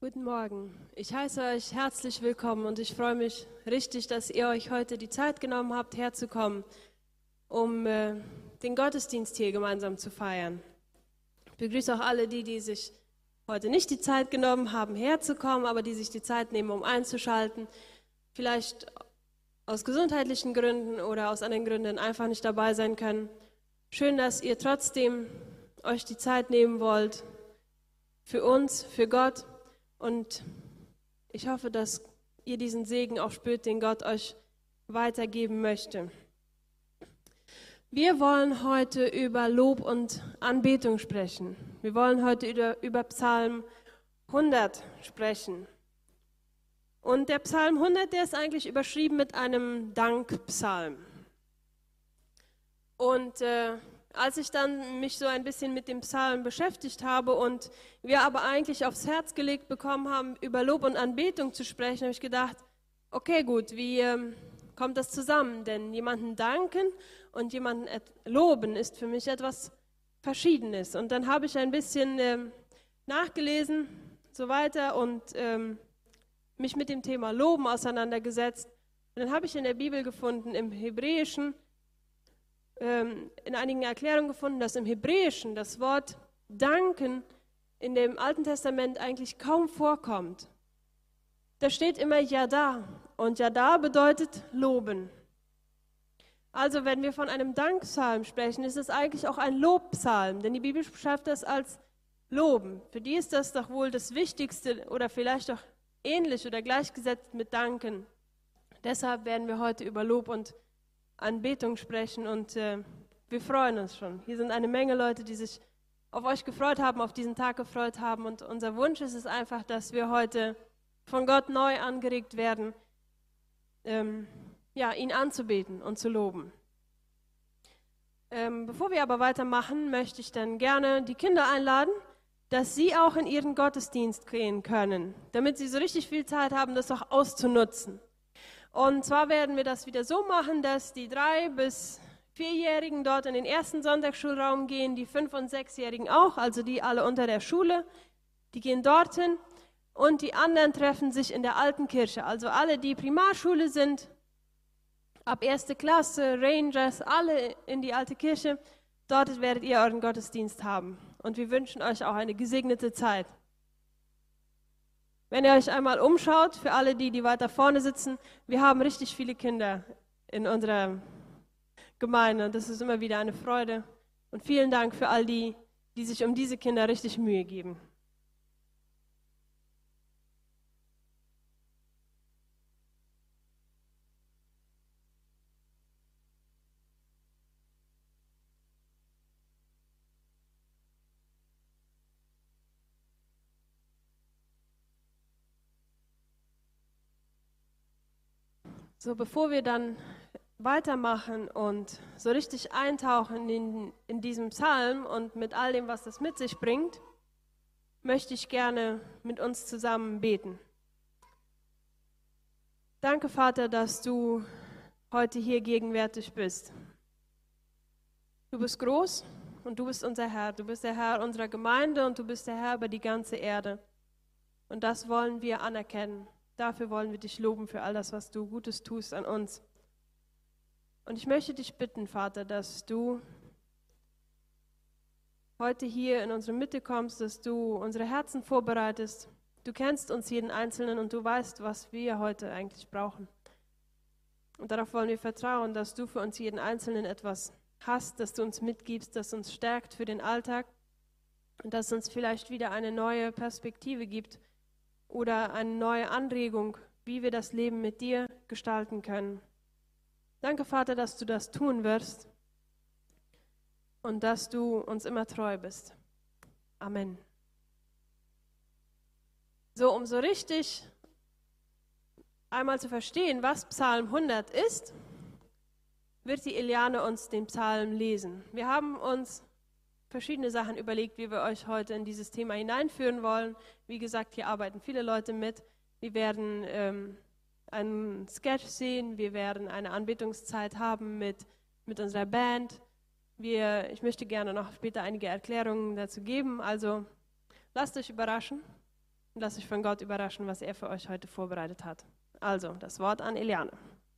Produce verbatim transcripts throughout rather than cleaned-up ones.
Guten Morgen. Ich heiße euch herzlich willkommen und ich freue mich richtig, dass ihr euch heute die Zeit genommen habt, herzukommen, um äh, den Gottesdienst hier gemeinsam zu feiern. Ich begrüße auch alle die, die sich heute nicht die Zeit genommen haben, herzukommen, aber die sich die Zeit nehmen, um einzuschalten. Vielleicht aus gesundheitlichen Gründen oder aus anderen Gründen einfach nicht dabei sein können. Schön, dass ihr trotzdem euch die Zeit nehmen wollt für uns, für Gott. Und ich hoffe, dass ihr diesen Segen auch spürt, den Gott euch weitergeben möchte. Wir wollen heute über Lob und Anbetung sprechen. Wir wollen heute über, über Psalm hundert sprechen. Und der Psalm hundert, der ist eigentlich überschrieben mit einem Dankpsalm. Und äh, als ich dann mich so ein bisschen mit dem Psalm beschäftigt habe und wir aber eigentlich aufs Herz gelegt bekommen haben, über Lob und Anbetung zu sprechen, habe ich gedacht, okay, gut, wie ähm, kommt das zusammen? Denn jemanden danken und jemanden loben ist für mich etwas Verschiedenes. Und dann habe ich ein bisschen ähm, nachgelesen, so weiter und ähm, mich mit dem Thema Loben auseinandergesetzt. Und dann habe ich in der Bibel gefunden, im Hebräischen, in einigen Erklärungen gefunden, dass im Hebräischen das Wort danken in dem Alten Testament eigentlich kaum vorkommt. Da steht immer Yada und Yada bedeutet loben. Also wenn wir von einem Dankpsalm sprechen, ist es eigentlich auch ein Lobpsalm, denn die Bibel beschreibt das als Loben. Für die ist das doch wohl das Wichtigste oder vielleicht auch ähnlich oder gleichgesetzt mit Danken. Deshalb werden wir heute über Lob und Anbetung sprechen und äh, wir freuen uns schon. Hier sind eine Menge Leute, die sich auf euch gefreut haben, auf diesen Tag gefreut haben und unser Wunsch ist es einfach, dass wir heute von Gott neu angeregt werden, ähm, ja, ihn anzubeten und zu loben. Ähm, bevor wir aber weitermachen, möchte ich dann gerne die Kinder einladen, dass sie auch in ihren Gottesdienst gehen können, damit sie so richtig viel Zeit haben, das auch auszunutzen. Und zwar werden wir das wieder so machen, dass die drei- bis vierjährigen dort in den ersten Sonntagsschulraum gehen, die fünf- und sechsjährigen auch, also die alle unter der Schule, die gehen dorthin und die anderen treffen sich in der alten Kirche. Also alle, die Primarschule sind, ab erste Klasse, Rangers, alle in die alte Kirche, dort werdet ihr euren Gottesdienst haben. Und wir wünschen euch auch eine gesegnete Zeit. Wenn ihr euch einmal umschaut, für alle die, die weiter vorne sitzen, wir haben richtig viele Kinder in unserer Gemeinde. Das ist immer wieder eine Freude. Und vielen Dank für all die, die sich um diese Kinder richtig Mühe geben. So, bevor wir dann weitermachen und so richtig eintauchen in, in diesem Psalm und mit all dem, was das mit sich bringt, möchte ich gerne mit uns zusammen beten. Danke, Vater, dass du heute hier gegenwärtig bist. Du bist groß und du bist unser Herr. Du bist der Herr unserer Gemeinde und du bist der Herr über die ganze Erde. Und das wollen wir anerkennen. Dafür wollen wir dich loben für all das, was du Gutes tust an uns. Und ich möchte dich bitten, Vater, dass du heute hier in unsere Mitte kommst, dass du unsere Herzen vorbereitest. Du kennst uns jeden Einzelnen und du weißt, was wir heute eigentlich brauchen. Und darauf wollen wir vertrauen, dass du für uns jeden Einzelnen etwas hast, dass du uns mitgibst, das uns stärkt für den Alltag und dass uns vielleicht wieder eine neue Perspektive gibt oder eine neue Anregung, wie wir das Leben mit dir gestalten können. Danke, Vater, dass du das tun wirst und dass du uns immer treu bist. Amen. So, um so richtig einmal zu verstehen, was Psalm hundert ist, wird die Eliane uns den Psalm lesen. Wir haben uns verschiedene Sachen überlegt, wie wir euch heute in dieses Thema hineinführen wollen. Wie gesagt, hier arbeiten viele Leute mit. Wir werden ähm, einen Sketch sehen, wir werden eine Anbetungszeit haben mit, mit unserer Band. Wir, ich möchte gerne noch später einige Erklärungen dazu geben, also lasst euch überraschen. und lasst euch von Gott überraschen, was er für euch heute vorbereitet hat. Also, das Wort an Eliane.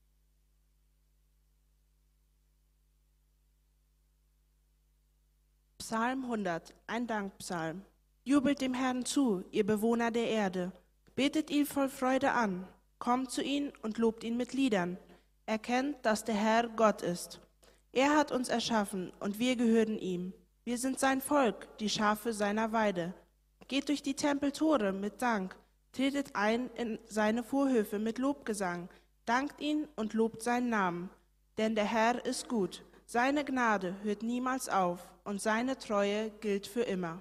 Psalm hundert, ein Dankpsalm. Jubelt dem Herrn zu, ihr Bewohner der Erde. Betet ihn voll Freude an. Kommt zu ihm und lobt ihn mit Liedern. Erkennt, dass der Herr Gott ist. Er hat uns erschaffen und wir gehören ihm. Wir sind sein Volk, die Schafe seiner Weide. Geht durch die Tempeltore mit Dank. Tretet ein in seine Vorhöfe mit Lobgesang. Dankt ihn und lobt seinen Namen. Denn der Herr ist gut. Seine Gnade hört niemals auf und seine Treue gilt für immer.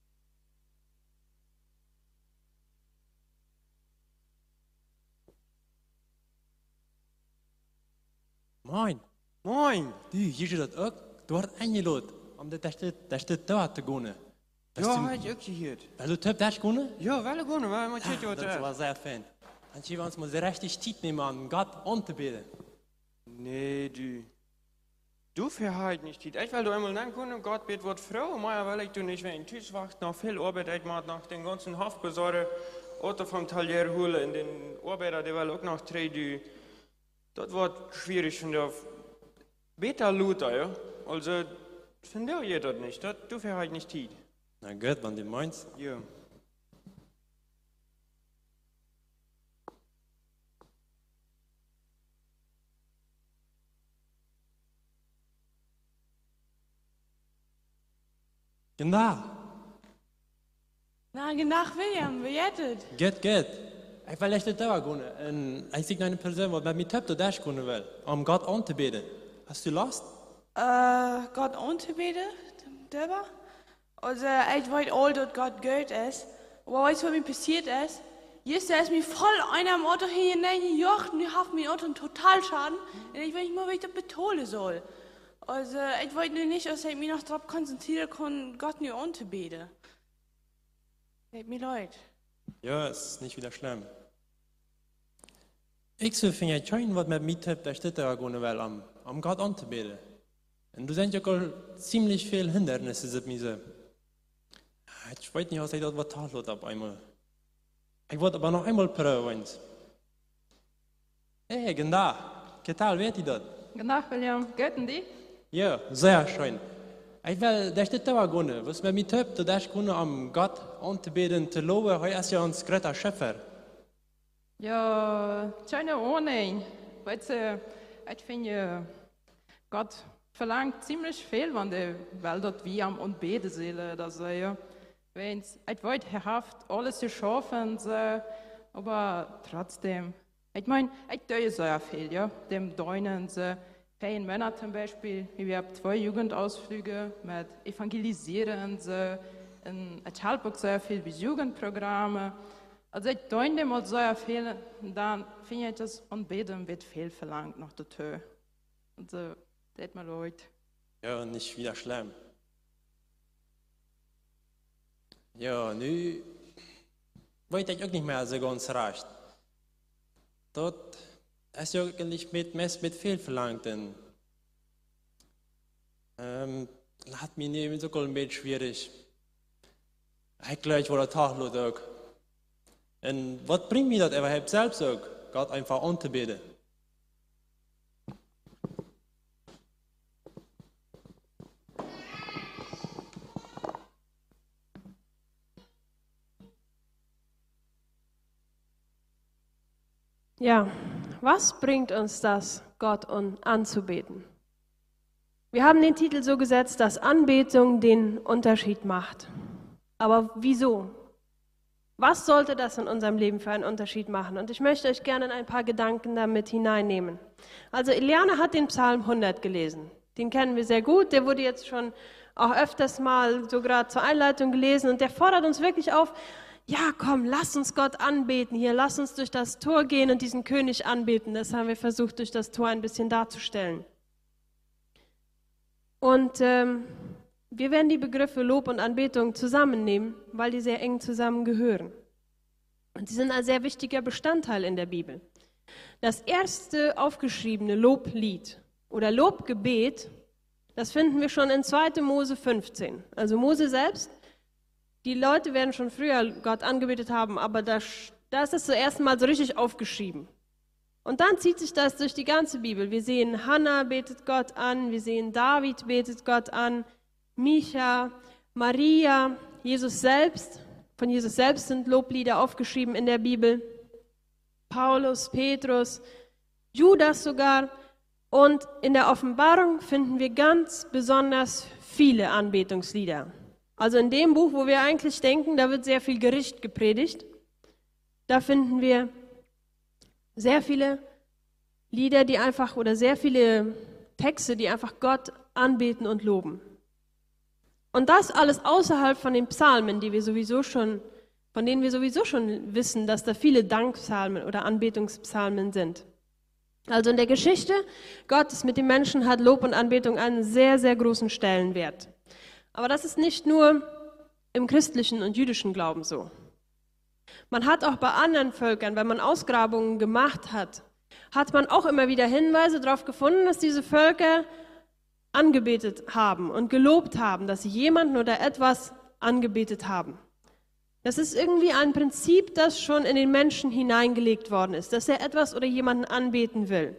Moin. Moin. Du, hier steht das auch. Du hast eingeladen, um das dort zu gehen. Ja, heb ik gehoord. Weil du das daar gehen? Ja, wel gewoon, maar moet je het Das war sehr fein. Dann können wir uns mal so richtig Zeit nehmen, an Gott anzubeten. Nee, du. Du verhalt nicht dit. Ich will du einmal nehmen können, Gott bet wird Frau, maar weil ich du nicht, wenn ich Tisch wacht, noch viel Arbeit ich mache, nach den ganzen Haftbesorger, Auto vom Talier holen, in den Arbeiter, der will auch noch drei, du. Das wird schwierig, finde ich. Beta Luther, ja. Also, finde ich das nicht. Das, du verhalt nicht dit. Na gut, wenn du meinst. Ja. Genau. Na, nach William, wie jettet? Geht, geht. Ich will echt nicht da gehen. Und ich sehe eine Person, die mit mir töpft, da gehen will, um Gott anzubeten. Hast du Lust? Äh, Gott anzubeten? Selber? Also, ich weiß all, dass Gott gut ist. Aber weißt du, was mir passiert ist? Jetzt ist mir voll einer am Auto hineingejocht und ich habe mir Auto einen Totalschaden. Und ich weiß nicht mal, wie ich das betonen soll. Also, ich weiß nur nicht, dass ich mich noch darauf konzentrieren kann, Gott nur anzubeten. Tut mir leid. Ja, ist nicht wieder schlimm. Ich so finde ich schön, was mit mir töpft, da steht da gehen will, um, um Gott anzubeten. Und du sind ja auch ziemlich viele Hindernisse, sind mir so. Ich weiß nicht, was ich das vertan habe einmal. Ich wollte aber noch einmal probieren. Hey, genau. ¿Qué tal, wer das? Genau, William. Götten die? Ja, sehr schön. Ich will, da steht da gehen. Was mit mir töpft, da ist gehen, um Gott anzubeten, zu loben, er ist ja uns größter Schöpfer. Ja, keine Ahnung. Weißt du, ich finde, Gott verlangt ziemlich viel, wenn der will, dass wir am Anbeten sollen, oder so, ja. Wenn ich wollte, herhaft alles zu schaffen, so, aber trotzdem. Ich meine, ich tue sehr viel, ja. Dem Deunen, so, vier Monate zum Beispiel, wir haben zwei Jugendausflüge mit Evangelisieren, so, und ich helfe auch sehr viel bei Jugendprogrammen. Also ich tue dem auch sehr viel, und dann finde ich, das Anbeten wird viel verlangt nach der Tür. Also, tut mir leid. Ja, nicht wieder schlimm. Ja, nu weet ich auch nicht mehr so ganz recht. Dort ist ja eigentlich mit, mit viel verlangt. Und, ähm, hat mir nicht so ein bisschen schwierig. Ich glaube, ich war der Tag auch. Und was bringt mir das überhaupt selbst auch, Gott einfach anzubeten? Ja, was bringt uns das, Gott anzubeten? Wir haben den Titel so gesetzt, dass Anbetung den Unterschied macht. Aber wieso? Was sollte das in unserem Leben für einen Unterschied machen? Und ich möchte euch gerne in ein paar Gedanken damit hineinnehmen. Also Eliane hat den Psalm hundert gelesen. Den kennen wir sehr gut. Der wurde jetzt schon auch öfters mal so gerade zur Einleitung gelesen. Und der fordert uns wirklich auf, ja, komm, lass uns Gott anbeten hier, lass uns durch das Tor gehen und diesen König anbeten. Das haben wir versucht, durch das Tor ein bisschen darzustellen. Und ähm, wir werden die Begriffe Lob und Anbetung zusammennehmen, weil die sehr eng zusammengehören. Und sie sind ein sehr wichtiger Bestandteil in der Bibel. Das erste aufgeschriebene Loblied oder Lobgebet, das finden wir schon in zweiter Mose fünfzehn. Also Mose selbst die Leute werden schon früher Gott angebetet haben, aber da, da ist das zuerst mal so richtig aufgeschrieben. Und dann zieht sich das durch die ganze Bibel. Wir sehen, Hannah betet Gott an, wir sehen, David betet Gott an, Micha, Maria, Jesus selbst. Von Jesus selbst sind Loblieder aufgeschrieben in der Bibel. Paulus, Petrus, Judas sogar. Und in der Offenbarung finden wir ganz besonders viele Anbetungslieder. Also in dem Buch, wo wir eigentlich denken, da wird sehr viel Gericht gepredigt, da finden wir sehr viele Lieder, die einfach, oder sehr viele Texte, die einfach Gott anbeten und loben. Und das alles außerhalb von den Psalmen, die wir sowieso schon, von denen wir sowieso schon wissen, dass da viele Dankpsalmen oder Anbetungspsalmen sind. Also in der Geschichte Gottes mit den Menschen hat Lob und Anbetung einen sehr, sehr großen Stellenwert. Aber das ist nicht nur im christlichen und jüdischen Glauben so. Man hat auch bei anderen Völkern, wenn man Ausgrabungen gemacht hat, hat man auch immer wieder Hinweise darauf gefunden, dass diese Völker angebetet haben und gelobt haben, dass sie jemanden oder etwas angebetet haben. Das ist irgendwie ein Prinzip, das schon in den Menschen hineingelegt worden ist, dass er etwas oder jemanden anbeten will.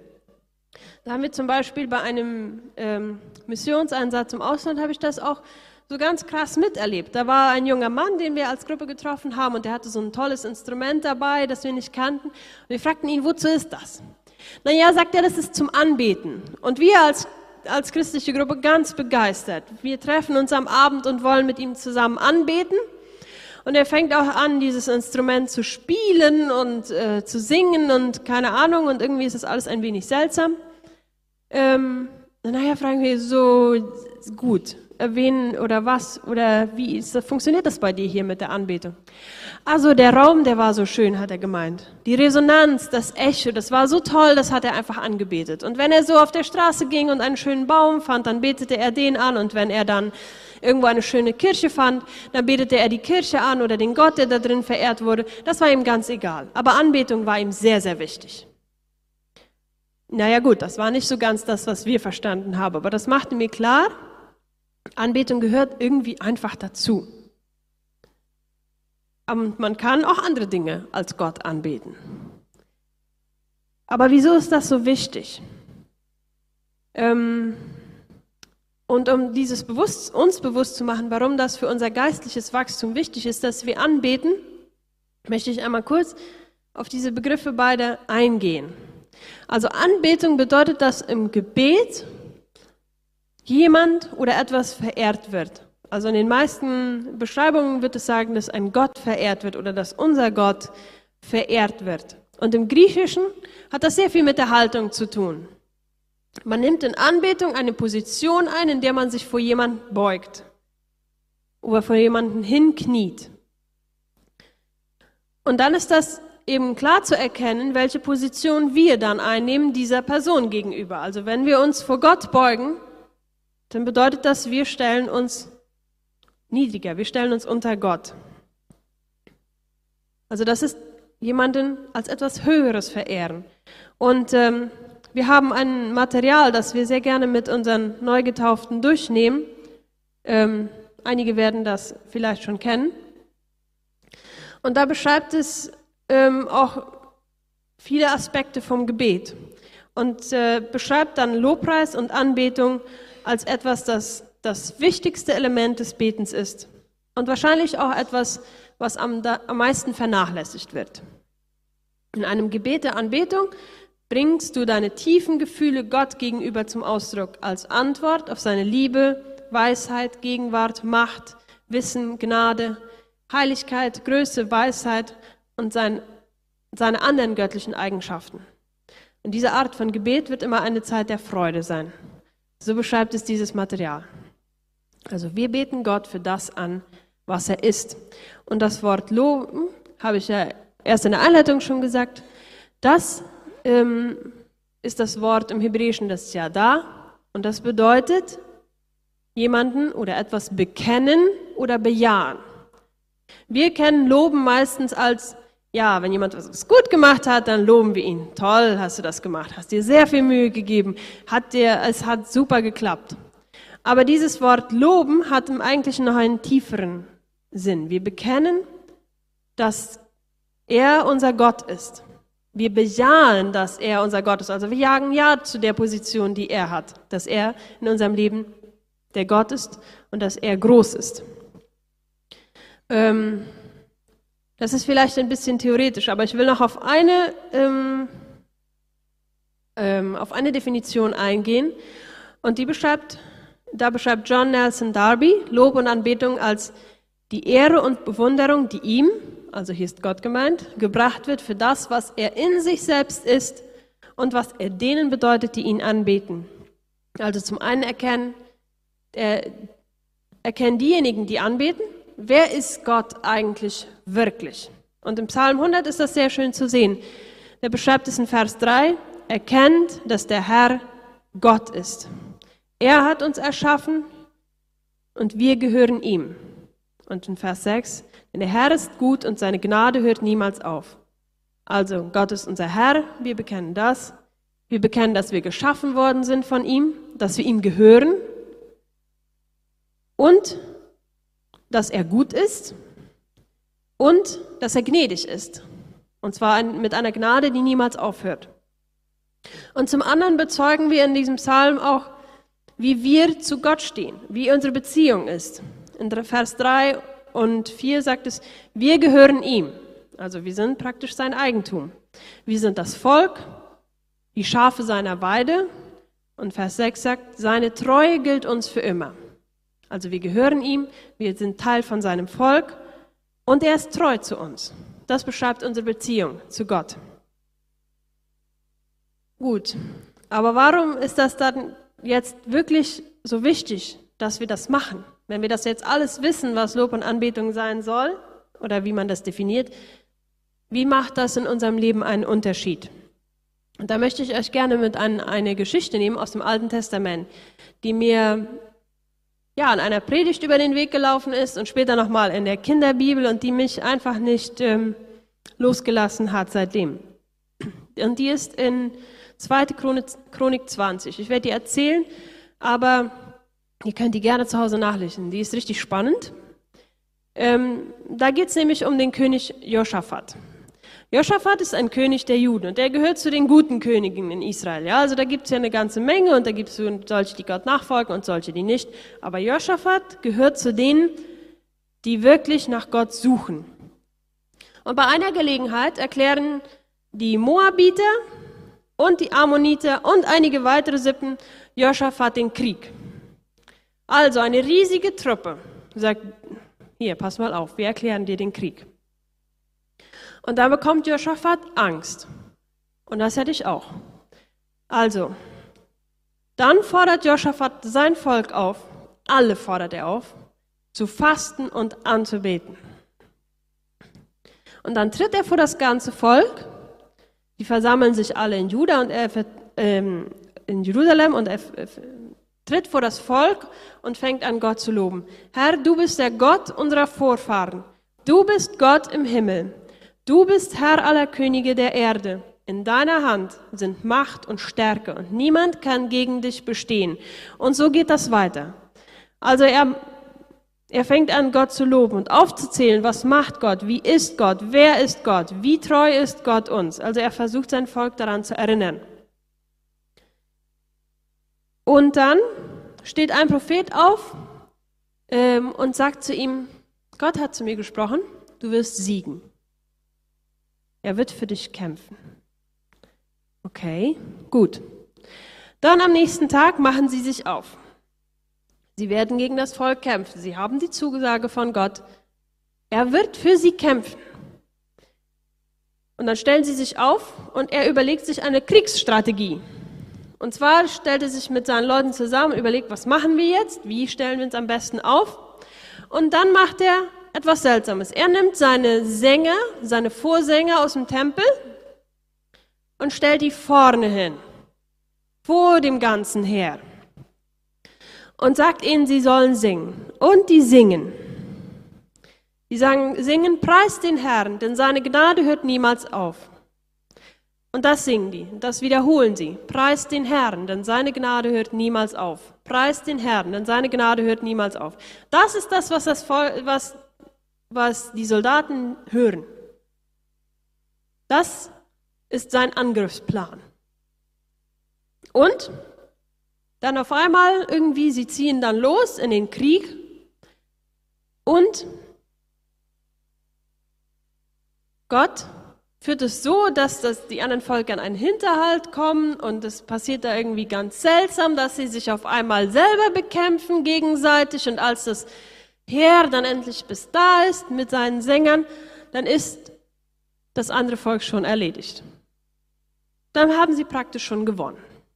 Da haben wir zum Beispiel bei einem ähm, Missionseinsatz im Ausland, habe ich das auch so ganz krass miterlebt. Da war ein junger Mann, den wir als Gruppe getroffen haben, und der hatte so ein tolles Instrument dabei, das wir nicht kannten. Und wir fragten ihn, wozu ist das? Naja, sagt er, das ist zum Anbeten. Und wir als, als christliche Gruppe ganz begeistert. Wir treffen uns am Abend und wollen mit ihm zusammen anbeten. Und er fängt auch an, dieses Instrument zu spielen und äh, zu singen und keine Ahnung. Und irgendwie ist das alles ein wenig seltsam. Ähm, nachher fragen wir so, gut, wen oder was oder wie ist das, funktioniert das bei dir hier mit der Anbetung? Also der Raum, der war so schön, hat er gemeint. Die Resonanz, das Echo, das war so toll, das hat er einfach angebetet. Und wenn er so auf der Straße ging und einen schönen Baum fand, dann betete er den an. Und wenn er dann irgendwo eine schöne Kirche fand, dann betete er die Kirche an oder den Gott, der da drin verehrt wurde. Das war ihm ganz egal. Aber Anbetung war ihm sehr, sehr wichtig. Naja gut, das war nicht so ganz das, was wir verstanden haben. Aber das machte mir klar, Anbetung gehört irgendwie einfach dazu. Und man kann auch andere Dinge als Gott anbeten. Aber wieso ist das so wichtig? Ähm, und um dieses bewusst, uns bewusst zu machen, warum das für unser geistliches Wachstum wichtig ist, dass wir anbeten, möchte ich einmal kurz auf diese Begriffe beide eingehen. Also Anbetung bedeutet, dass im Gebet jemand oder etwas verehrt wird. Also in den meisten Beschreibungen wird es sagen, dass ein Gott verehrt wird oder dass unser Gott verehrt wird. Und im Griechischen hat das sehr viel mit der Haltung zu tun. Man nimmt in Anbetung eine Position ein, in der man sich vor jemanden beugt oder vor jemanden hinkniet. Und dann ist das eben klar zu erkennen, welche Position wir dann einnehmen dieser Person gegenüber. Also wenn wir uns vor Gott beugen, dann bedeutet das, wir stellen uns niedriger, wir stellen uns unter Gott. Also das ist jemanden als etwas Höheres verehren. Und ähm, wir haben ein Material, das wir sehr gerne mit unseren Neugetauften durchnehmen. Ähm, einige werden das vielleicht schon kennen. Und da beschreibt es ähm, auch viele Aspekte vom Gebet und äh, beschreibt dann Lobpreis und Anbetung als etwas, das das wichtigste Element des Betens ist und wahrscheinlich auch etwas, was am, da, am meisten vernachlässigt wird. In einem Gebet der Anbetung bringst du deine tiefen Gefühle Gott gegenüber zum Ausdruck als Antwort auf seine Liebe, Weisheit, Gegenwart, Macht, Wissen, Gnade, Heiligkeit, Größe, Weisheit und sein, seine anderen göttlichen Eigenschaften. Und diese Art von Gebet wird immer eine Zeit der Freude sein. So beschreibt es dieses Material. Also wir beten Gott für das an, was er ist. Und das Wort loben, habe ich ja erst in der Einleitung schon gesagt, das ähm, ist das Wort im Hebräischen, das Yada. Und das bedeutet, jemanden oder etwas bekennen oder bejahen. Wir kennen Loben meistens als, ja, wenn jemand was gut gemacht hat, dann loben wir ihn. Toll, hast du das gemacht, hast dir sehr viel Mühe gegeben, hat dir, es hat super geklappt. Aber dieses Wort loben hat im Eigentlichen noch einen tieferen sind. Wir bekennen, dass er unser Gott ist. Wir bejahen, dass er unser Gott ist. Also wir jagen Ja zu der Position, die er hat, dass er in unserem Leben der Gott ist und dass er groß ist. Ähm, das ist vielleicht ein bisschen theoretisch, aber ich will noch auf eine, ähm, ähm, auf eine Definition eingehen. Und die beschreibt, da beschreibt John Nelson Darby Lob und Anbetung als die Ehre und Bewunderung, die ihm, also hier ist Gott gemeint, gebracht wird für das, was er in sich selbst ist und was er denen bedeutet, die ihn anbeten. Also zum einen erkennen, äh, erkennen diejenigen, die anbeten, wer ist Gott eigentlich wirklich? Und im Psalm hundert ist das sehr schön zu sehen. Der beschreibt es in Vers drei, erkennt, dass der Herr Gott ist. Er hat uns erschaffen und wir gehören ihm. Und in Vers sechs, denn der Herr ist gut und seine Gnade hört niemals auf. Also Gott ist unser Herr, wir bekennen das. Wir bekennen, dass wir geschaffen worden sind von ihm, dass wir ihm gehören und dass er gut ist und dass er gnädig ist. Und zwar mit einer Gnade, die niemals aufhört. Und zum anderen bezeugen wir in diesem Psalm auch, wie wir zu Gott stehen, wie unsere Beziehung ist. In Vers drei und vier sagt es, wir gehören ihm. Also wir sind praktisch sein Eigentum. Wir sind das Volk, die Schafe seiner Weide. Und Vers sechs sagt, seine Treue gilt uns für immer. Also wir gehören ihm, wir sind Teil von seinem Volk und er ist treu zu uns. Das beschreibt unsere Beziehung zu Gott. Gut, aber warum ist das dann jetzt wirklich so wichtig, dass wir das machen? Wenn wir das jetzt alles wissen, was Lob und Anbetung sein soll oder wie man das definiert, wie macht das in unserem Leben einen Unterschied? Und da möchte ich euch gerne mit an eine Geschichte nehmen aus dem Alten Testament, die mir ja an einer Predigt über den Weg gelaufen ist und später nochmal in der Kinderbibel und die mich einfach nicht ähm, losgelassen hat seitdem. Und die ist in zweite Chronik zwanzig. Ich werde die erzählen, aber ihr könnt die gerne zu Hause nachlesen. Die ist richtig spannend. Ähm, da geht es nämlich um den König Josaphat. Josaphat ist ein König der Juden und der gehört zu den guten Königen in Israel. Ja, also da gibt es ja eine ganze Menge und da gibt es solche, die Gott nachfolgen und solche, die nicht. Aber Josaphat gehört zu denen, die wirklich nach Gott suchen. Und bei einer Gelegenheit erklären die Moabiter und die Ammoniter und einige weitere Sippen Josaphat den Krieg. Also eine riesige Truppe sagt, hier, pass mal auf, wir erklären dir den Krieg. Und da bekommt Josaphat Angst. Und das hätte ich auch. Also, dann fordert Josaphat sein Volk auf, alle fordert er auf, zu fasten und anzubeten. Und dann tritt er vor das ganze Volk, die versammeln sich alle in Juda und er, ähm, in Jerusalem und er äh, tritt vor das Volk und fängt an, Gott zu loben. Herr, du bist der Gott unserer Vorfahren. Du bist Gott im Himmel. Du bist Herr aller Könige der Erde. In deiner Hand sind Macht und Stärke und niemand kann gegen dich bestehen. Und so geht das weiter. Also er, er fängt an, Gott zu loben und aufzuzählen, was macht Gott, wie ist Gott, wer ist Gott, wie treu ist Gott uns. Also er versucht sein Volk daran zu erinnern. Und dann steht ein Prophet auf ähm, und sagt zu ihm, Gott hat zu mir gesprochen, du wirst siegen. Er wird für dich kämpfen. Okay, gut. Dann am nächsten Tag machen sie sich auf. Sie werden gegen das Volk kämpfen. Sie haben die Zusage von Gott. Er wird für sie kämpfen. Und dann stellen sie sich auf und er überlegt sich eine Kriegsstrategie. Und zwar stellt er sich mit seinen Leuten zusammen und überlegt, was machen wir jetzt? Wie stellen wir uns am besten auf? Und dann macht er etwas Seltsames. Er nimmt seine Sänger, seine Vorsänger aus dem Tempel und stellt die vorne hin, vor dem ganzen Heer. Und sagt ihnen, sie sollen singen. Und die singen. Die sagen, singen, preist den Herrn, denn seine Gnade hört niemals auf. Und das singen die, das wiederholen sie. Preist den Herrn, denn seine Gnade hört niemals auf. Preist den Herrn, denn seine Gnade hört niemals auf. Das ist das, was, das Volk, was was die Soldaten hören. Das ist sein Angriffsplan. Und dann auf einmal irgendwie, sie ziehen dann los in den Krieg und Gott führt es so, dass das die anderen Völker in einen Hinterhalt kommen und es passiert da irgendwie ganz seltsam, dass sie sich auf einmal selber bekämpfen gegenseitig und als das Heer dann endlich bis da ist mit seinen Sängern, dann ist das andere Volk schon erledigt. Dann haben sie praktisch schon gewonnen.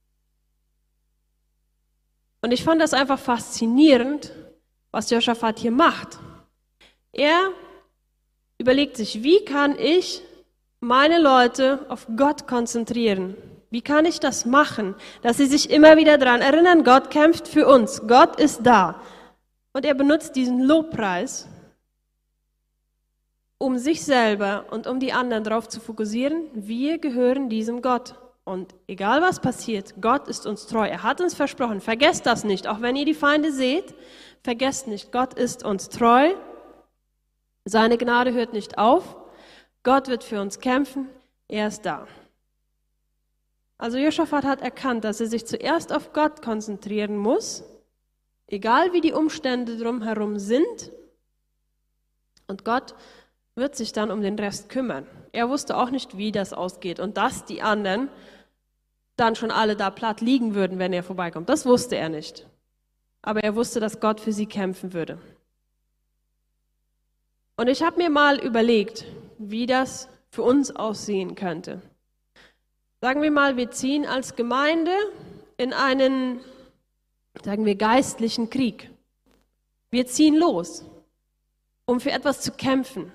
Und ich fand das einfach faszinierend, was Josaphat hier macht. Er überlegt sich, wie kann ich meine Leute auf Gott konzentrieren? Wie kann ich das machen, dass sie sich immer wieder daran erinnern, Gott kämpft für uns, Gott ist da. Und er benutzt diesen Lobpreis, um sich selber und um die anderen darauf zu fokussieren, wir gehören diesem Gott. Und egal was passiert, Gott ist uns treu. Er hat uns versprochen, vergesst das nicht, auch wenn ihr die Feinde seht, vergesst nicht, Gott ist uns treu. Seine Gnade hört nicht auf. Gott wird für uns kämpfen. Er ist da. Also Josaphat hat erkannt, dass er sich zuerst auf Gott konzentrieren muss, egal wie die Umstände drumherum sind. Und Gott wird sich dann um den Rest kümmern. Er wusste auch nicht, wie das ausgeht und dass die anderen dann schon alle da platt liegen würden, wenn er vorbeikommt. Das wusste er nicht. Aber er wusste, dass Gott für sie kämpfen würde. Und ich habe mir mal überlegt, wie das für uns aussehen könnte. Sagen wir mal, wir ziehen als Gemeinde in einen, sagen wir, geistlichen Krieg. Wir ziehen los, um für etwas zu kämpfen.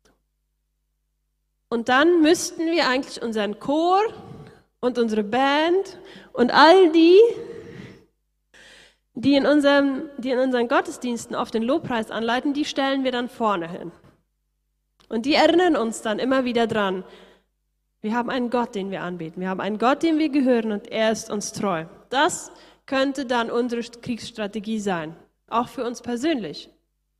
Und dann müssten wir eigentlich unseren Chor und unsere Band und all die, die in, unserem, die in unseren Gottesdiensten auf den Lobpreis anleiten, die stellen wir dann vorne hin. Und die erinnern uns dann immer wieder dran, wir haben einen Gott, den wir anbeten. Wir haben einen Gott, dem wir gehören und er ist uns treu. Das könnte dann unsere Kriegsstrategie sein, auch für uns persönlich.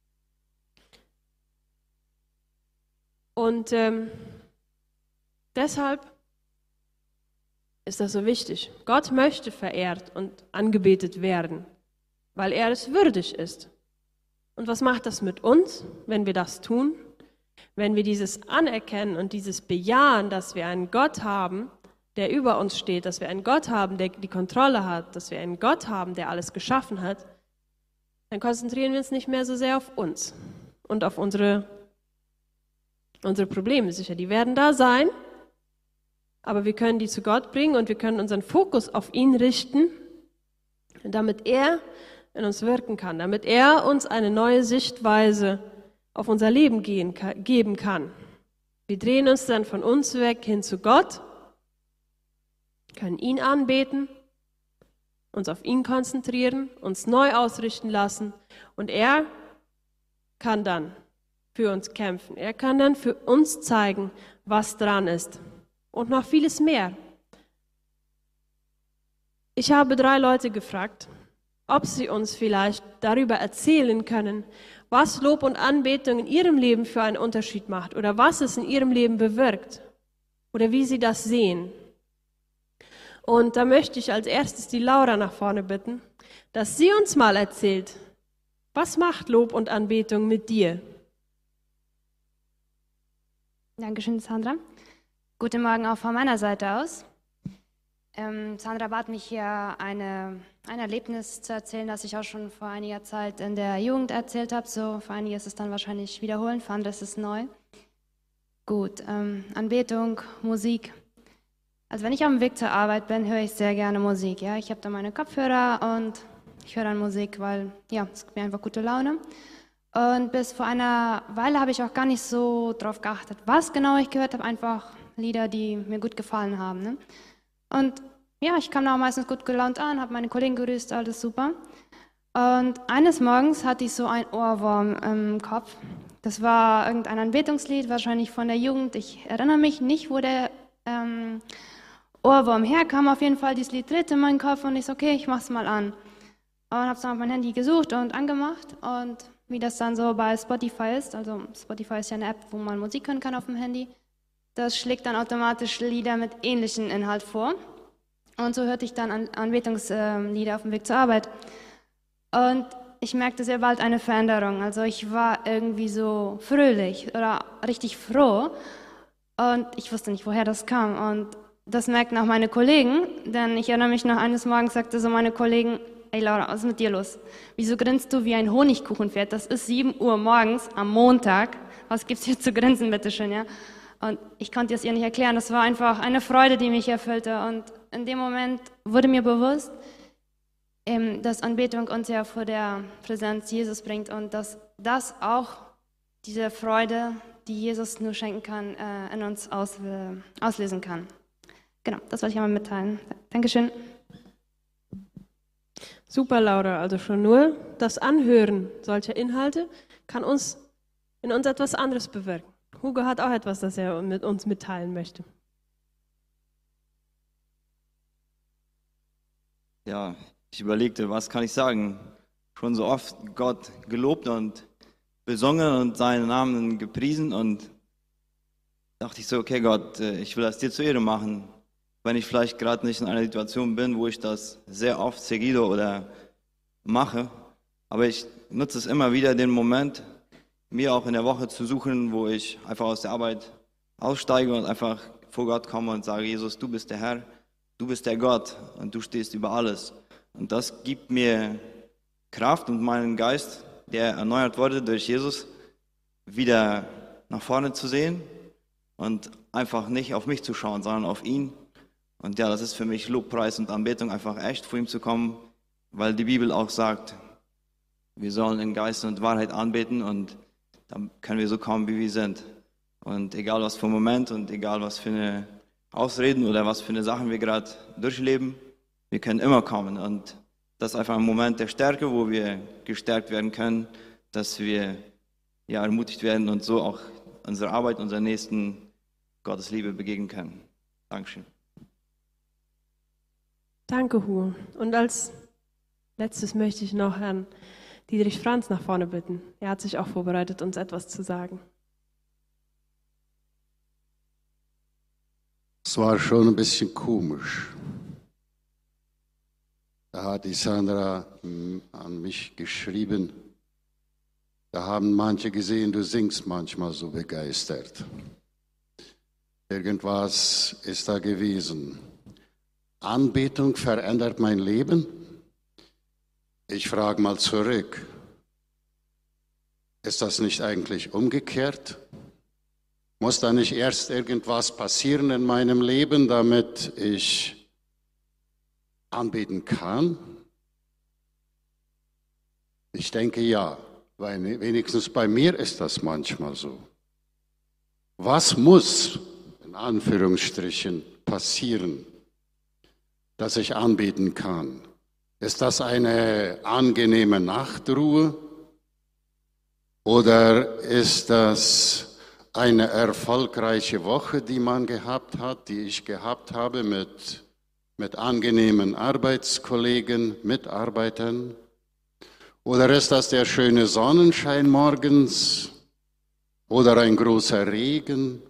Und ähm, deshalb ist das so wichtig. Gott möchte verehrt und angebetet werden, weil er es würdig ist. Und was macht das mit uns, wenn wir das tun? Wenn wir dieses anerkennen und dieses bejahen, dass wir einen Gott haben, der über uns steht, dass wir einen Gott haben, der die Kontrolle hat, dass wir einen Gott haben, der alles geschaffen hat, dann konzentrieren wir uns nicht mehr so sehr auf uns und auf unsere, unsere Probleme. Sicher, die werden da sein, aber wir können die zu Gott bringen und wir können unseren Fokus auf ihn richten, damit er in uns wirken kann, damit er uns eine neue Sichtweise auf unser Leben gehen, geben kann. Wir drehen uns dann von uns weg hin zu Gott, können ihn anbeten, uns auf ihn konzentrieren, uns neu ausrichten lassen und er kann dann für uns kämpfen. Er kann dann für uns zeigen, was dran ist und noch vieles mehr. Ich habe drei Leute gefragt, ob sie uns vielleicht darüber erzählen können, was Lob und Anbetung in ihrem Leben für einen Unterschied macht oder was es in ihrem Leben bewirkt oder wie sie das sehen. Und da möchte ich als erstes die Laura nach vorne bitten, dass sie uns mal erzählt, was macht Lob und Anbetung mit dir? Dankeschön, Sandra. Guten Morgen auch von meiner Seite aus. Ähm, Sandra bat mich hier eine, ein Erlebnis zu erzählen, das ich auch schon vor einiger Zeit in der Jugend erzählt habe. So, für einige ist es dann wahrscheinlich wiederholen, für andere ist es neu. Gut, ähm, Anbetung, Musik. Also wenn ich auf dem Weg zur Arbeit bin, höre ich sehr gerne Musik. Ja? Ich habe da meine Kopfhörer und ich höre dann Musik, weil ja, es gibt mir einfach gute Laune. Und bis vor einer Weile habe ich auch gar nicht so drauf geachtet, was genau ich gehört habe. Einfach Lieder, die mir gut gefallen haben. Ne? Und ja, ich kam da auch meistens gut gelaunt an, habe meine Kollegen grüßt, alles super. Und eines Morgens hatte ich so ein Ohrwurm im Kopf. Das war irgendein Anbetungslied, wahrscheinlich von der Jugend. Ich erinnere mich nicht, wo der ähm, Ohrwurm herkam. Auf jeden Fall, dieses Lied tritt in meinen Kopf und ich so, okay, ich mach's mal an. Und habe dann auf mein Handy gesucht und angemacht und wie das dann so bei Spotify ist. Also Spotify ist ja eine App, wo man Musik hören kann auf dem Handy. Das schlägt dann automatisch Lieder mit ähnlichem Inhalt vor. Und so hörte ich dann An Anbetungslieder auf dem Weg zur Arbeit. Und ich merkte sehr bald eine Veränderung. Also ich war irgendwie so fröhlich oder richtig froh. Und ich wusste nicht, woher das kam. Und das merkten auch meine Kollegen. Denn ich erinnere mich noch, eines Morgens sagte so meine Kollegen, ey Laura, was ist mit dir los? Wieso grinst du wie ein Honigkuchenpferd? Das ist sieben Uhr morgens am Montag. Was gibt's hier zu grinsen, bitteschön, ja? Und ich konnte es ihr nicht erklären. Das war einfach eine Freude, die mich erfüllte. Und in dem Moment wurde mir bewusst, dass Anbetung uns ja vor der Präsenz Jesus bringt und dass das auch diese Freude, die Jesus nur schenken kann, in uns aus, auslösen kann. Genau, das wollte ich einmal mitteilen. Dankeschön. Super, Laura. Also schon nur das Anhören solcher Inhalte kann uns in uns etwas anderes bewirken. Hugo hat auch etwas, das er mit uns mitteilen möchte. Ja, ich überlegte, was kann ich sagen? Schon so oft Gott gelobt und besungen und seinen Namen gepriesen und dachte ich so, okay Gott, ich will das dir zur Ehre machen. Wenn ich vielleicht gerade nicht in einer Situation bin, wo ich das sehr oft seguido oder mache, aber ich nutze es immer wieder, den Moment, mir auch in der Woche zu suchen, wo ich einfach aus der Arbeit aussteige und einfach vor Gott komme und sage, Jesus, du bist der Herr, du bist der Gott und du stehst über alles. Und das gibt mir Kraft und meinen Geist, der erneuert wurde durch Jesus, wieder nach vorne zu sehen und einfach nicht auf mich zu schauen, sondern auf ihn. Und ja, das ist für mich Lobpreis und Anbetung, einfach echt vor ihm zu kommen, weil die Bibel auch sagt, wir sollen in Geist und Wahrheit anbeten und dann können wir so kommen, wie wir sind. Und egal was für ein Moment und egal was für eine Ausreden oder was für eine Sachen wir gerade durchleben, wir können immer kommen. Und das ist einfach ein Moment der Stärke, wo wir gestärkt werden können, dass wir ja, ermutigt werden und so auch unsere Arbeit, unseren Nächsten Gottes Liebe begegnen können. Dankeschön. Danke, Hugo. Und als letztes möchte ich noch Herrn Dietrich Franz nach vorne bitten. Er hat sich auch vorbereitet, uns etwas zu sagen. Es war schon ein bisschen komisch. Da hat die Sandra an mich geschrieben, da haben manche gesehen, du singst manchmal so begeistert. Irgendwas ist da gewesen. Anbetung verändert mein Leben? Ich frage mal zurück. Ist das nicht eigentlich umgekehrt? Muss da nicht erst irgendwas passieren in meinem Leben, damit ich anbeten kann? Ich denke ja, weil wenigstens bei mir ist das manchmal so. Was muss, in Anführungsstrichen, passieren, dass ich anbeten kann? Ist das eine angenehme Nachtruhe oder ist das eine erfolgreiche Woche, die man gehabt hat, die ich gehabt habe mit, mit angenehmen Arbeitskollegen, Mitarbeitern? Oder ist das der schöne Sonnenschein morgens oder ein großer Regen?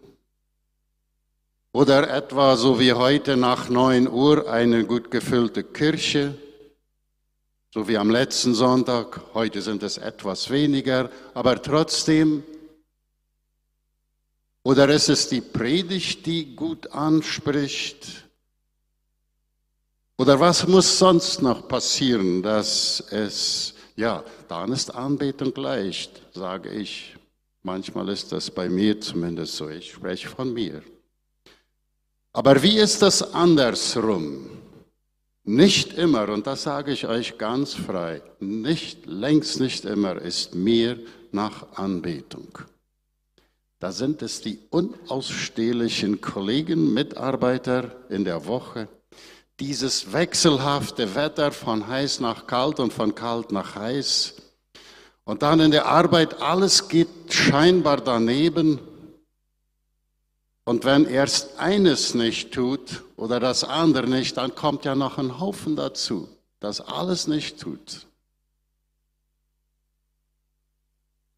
Oder etwa so wie heute nach neun Uhr eine gut gefüllte Kirche, so wie am letzten Sonntag, heute sind es etwas weniger, aber trotzdem. Oder ist es die Predigt, die gut anspricht? Oder was muss sonst noch passieren, dass es, ja, dann ist Anbetung leicht, sage ich. Manchmal ist das bei mir zumindest so, ich spreche von mir. Aber wie ist das andersrum? Nicht immer, und das sage ich euch ganz frei, nicht, längst nicht immer ist mir nach Anbetung. Da sind es die unausstehlichen Kollegen, Mitarbeiter in der Woche, dieses wechselhafte Wetter von heiß nach kalt und von kalt nach heiß. Und dann in der Arbeit, alles geht scheinbar daneben. Und wenn erst eines nicht tut oder das andere nicht, dann kommt ja noch ein Haufen dazu, das alles nicht tut.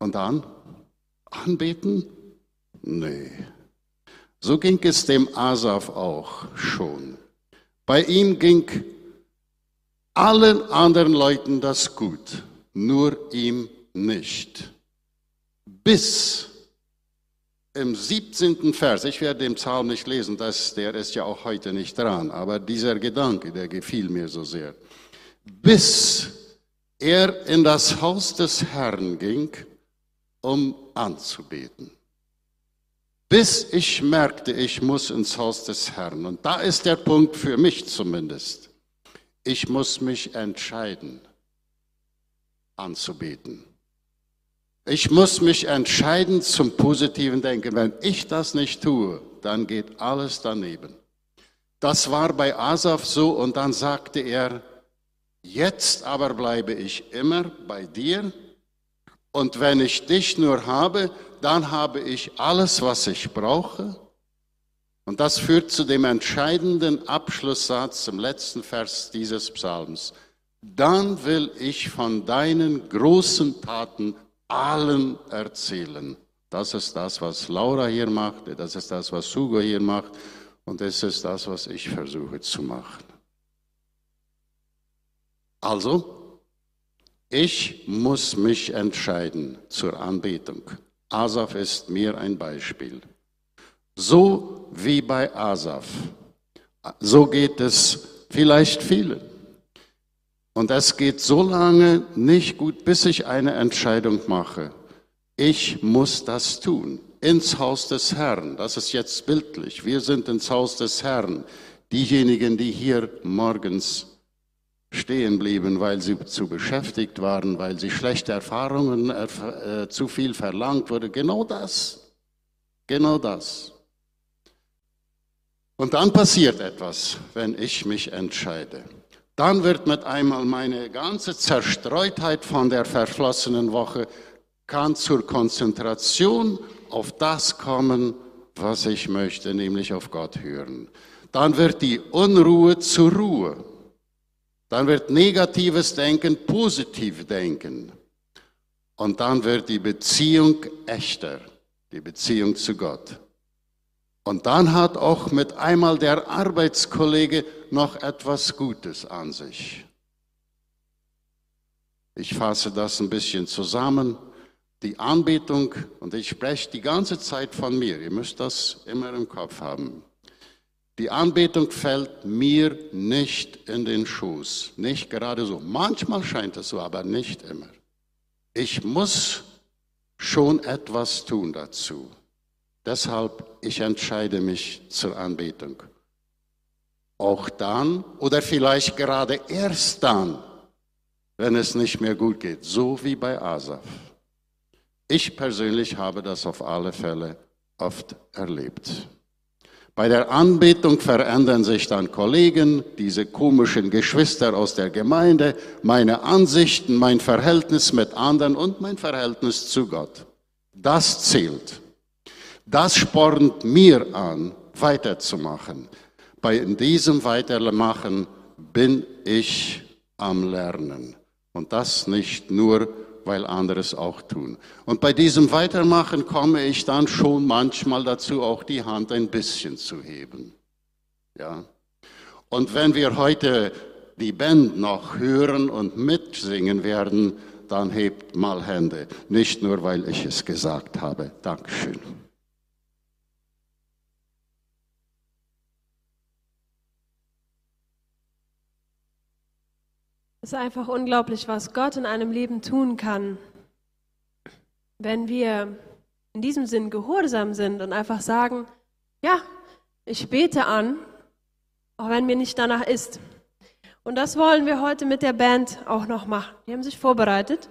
Und dann anbeten? Nee. So ging es dem Asaf auch schon. Bei ihm ging allen anderen Leuten das gut, nur ihm nicht. Bis im siebzehnten Vers, ich werde den Psalm nicht lesen, das, der ist ja auch heute nicht dran, aber dieser Gedanke, der gefiel mir so sehr. Bis er in das Haus des Herrn ging, um anzubeten. Bis ich merkte, ich muss ins Haus des Herrn. Und da ist der Punkt für mich zumindest. Ich muss mich entscheiden, anzubeten. Ich muss mich entscheiden zum positiven Denken. Wenn ich das nicht tue, dann geht alles daneben. Das war bei Asaf so und dann sagte er, jetzt aber bleibe ich immer bei dir und wenn ich dich nur habe, dann habe ich alles, was ich brauche. Und das führt zu dem entscheidenden Abschlusssatz im letzten Vers dieses Psalms. Dann will ich von deinen großen Taten allen erzählen. Das ist das, was Laura hier macht, das ist das, was Hugo hier macht und das ist das, was ich versuche zu machen. Also, ich muss mich entscheiden zur Anbetung. Asaf ist mir ein Beispiel. So wie bei Asaf, so geht es vielleicht vielen. Und es geht so lange nicht gut, bis ich eine Entscheidung mache. Ich muss das tun. Ins Haus des Herrn, das ist jetzt bildlich. Wir sind ins Haus des Herrn. Diejenigen, die hier morgens stehen blieben, weil sie zu beschäftigt waren, weil sie schlechte Erfahrungen, äh, zu viel verlangt wurde. Genau das. Genau das. Und dann passiert etwas, wenn ich mich entscheide. Dann wird mit einmal meine ganze Zerstreutheit von der verflossenen Woche kann zur Konzentration auf das kommen, was ich möchte, nämlich auf Gott hören. Dann wird die Unruhe zur Ruhe. Dann wird negatives Denken positiv denken. Und dann wird die Beziehung echter, die Beziehung zu Gott. Und dann hat auch mit einmal der Arbeitskollege noch etwas Gutes an sich. Ich fasse das ein bisschen zusammen. Die Anbetung, und ich spreche die ganze Zeit von mir, ihr müsst das immer im Kopf haben. Die Anbetung fällt mir nicht in den Schoß, nicht gerade so. Manchmal scheint es so, aber nicht immer. Ich muss schon etwas tun dazu. Deshalb, ich entscheide mich zur Anbetung. Auch dann oder vielleicht gerade erst dann, wenn es nicht mehr gut geht, so wie bei Asaf. Ich persönlich habe das auf alle Fälle oft erlebt. Bei der Anbetung verändern sich dann Kollegen, diese komischen Geschwister aus der Gemeinde, meine Ansichten, mein Verhältnis mit anderen und mein Verhältnis zu Gott. Das zählt. Das spornt mir an, weiterzumachen. Bei diesem Weitermachen bin ich am Lernen. Und das nicht nur, weil andere es auch tun. Und bei diesem Weitermachen komme ich dann schon manchmal dazu, auch die Hand ein bisschen zu heben. Ja. Und wenn wir heute die Band noch hören und mitsingen werden, dann hebt mal Hände. Nicht nur, weil ich es gesagt habe. Dankeschön. Es ist einfach unglaublich, was Gott in einem Leben tun kann, wenn wir in diesem Sinn gehorsam sind und einfach sagen, ja, ich bete an, auch wenn mir nicht danach ist. Und das wollen wir heute mit der Band auch noch machen. Die haben sich vorbereitet.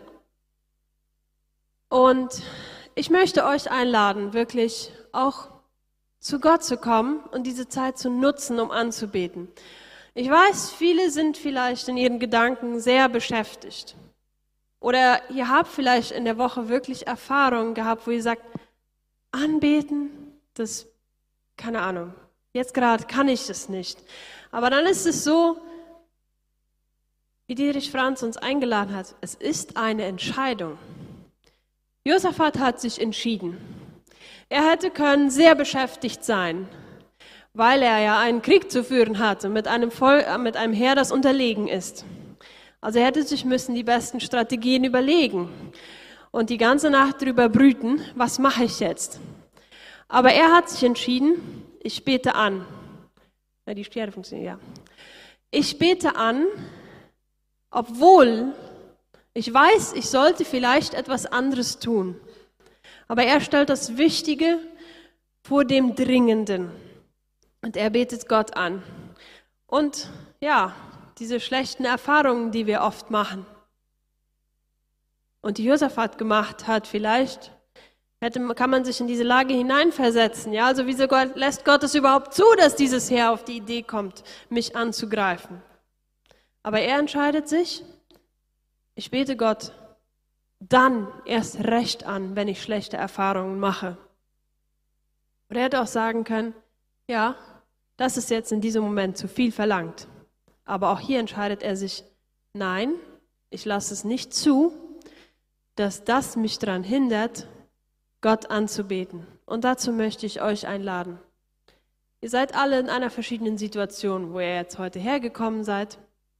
Und ich möchte euch einladen, wirklich auch zu Gott zu kommen und diese Zeit zu nutzen, um anzubeten. Ich weiß, viele sind vielleicht in ihren Gedanken sehr beschäftigt. Oder ihr habt vielleicht in der Woche wirklich Erfahrungen gehabt, wo ihr sagt, anbeten, das, keine Ahnung, jetzt gerade kann ich das nicht. Aber dann ist es so, wie Dietrich Franz uns eingeladen hat, es ist eine Entscheidung. Josaphat hat sich entschieden. Er hätte können sehr beschäftigt sein, weil er ja einen Krieg zu führen hatte mit einem, Volk, mit einem Heer, das unterlegen ist. Also er hätte sich müssen die besten Strategien überlegen und die ganze Nacht darüber brüten, was mache ich jetzt? Aber er hat sich entschieden, ich bete an. Ja, die Stiere funktioniert, ja. Ich bete an, obwohl ich weiß, ich sollte vielleicht etwas anderes tun. Aber er stellt das Wichtige vor dem Dringenden. Und er betet Gott an. Und ja, diese schlechten Erfahrungen, die wir oft machen. Und die Josaphat gemacht hat, vielleicht hätte, kann man sich in diese Lage hineinversetzen. Ja, also wieso Gott, lässt Gott es überhaupt zu, dass dieses Heer auf die Idee kommt, mich anzugreifen? Aber er entscheidet sich, ich bete Gott dann erst recht an, wenn ich schlechte Erfahrungen mache. Oder er hätte auch sagen können, ja, das ist jetzt in diesem Moment zu viel verlangt. Aber auch hier entscheidet er sich, nein, ich lasse es nicht zu, dass das mich daran hindert, Gott anzubeten. Und dazu möchte ich euch einladen. Ihr seid alle in einer verschiedenen Situation, wo ihr jetzt heute hergekommen seid.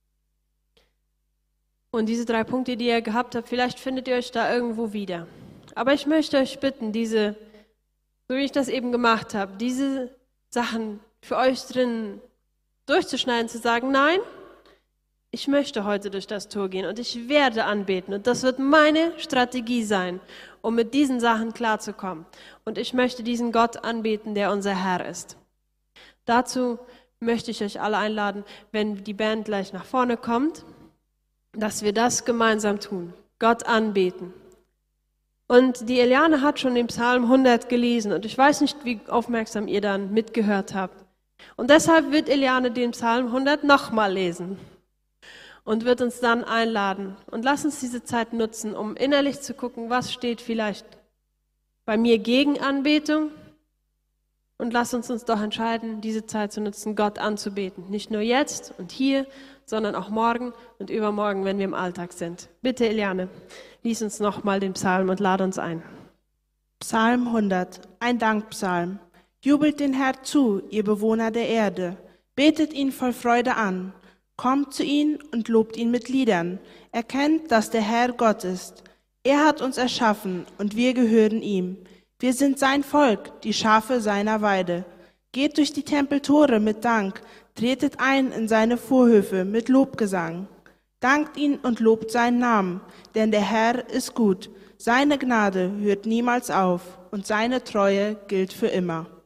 Und diese drei Punkte, die ihr gehabt habt, vielleicht findet ihr euch da irgendwo wieder. Aber ich möchte euch bitten, diese, so wie ich das eben gemacht habe, diese Sachen für euch drin durchzuschneiden, zu sagen, nein, ich möchte heute durch das Tor gehen und ich werde anbeten. Und das wird meine Strategie sein, um mit diesen Sachen klarzukommen. Und ich möchte diesen Gott anbeten, der unser Herr ist. Dazu möchte ich euch alle einladen, wenn die Band gleich nach vorne kommt, dass wir das gemeinsam tun, Gott anbeten. Und die Eliane hat schon den Psalm hundert gelesen und ich weiß nicht, wie aufmerksam ihr dann mitgehört habt. Und deshalb wird Eliane den Psalm hundert nochmal lesen und wird uns dann einladen. Und lass uns diese Zeit nutzen, um innerlich zu gucken, was steht vielleicht bei mir gegen Anbetung. Und lass uns uns doch entscheiden, diese Zeit zu nutzen, Gott anzubeten. Nicht nur jetzt und hier, sondern auch morgen und übermorgen, wenn wir im Alltag sind. Bitte, Eliane, lies uns nochmal den Psalm und lade uns ein. Psalm hundert, ein Dankpsalm. Jubelt den Herrn zu, ihr Bewohner der Erde. Betet ihn voll Freude an. Kommt zu ihm und lobt ihn mit Liedern. Erkennt, dass der Herr Gott ist. Er hat uns erschaffen und wir gehören ihm. Wir sind sein Volk, die Schafe seiner Weide. Geht durch die Tempeltore mit Dank, tretet ein in seine Vorhöfe mit Lobgesang. Dankt ihn und lobt seinen Namen, denn der Herr ist gut. Seine Gnade hört niemals auf und seine Treue gilt für immer.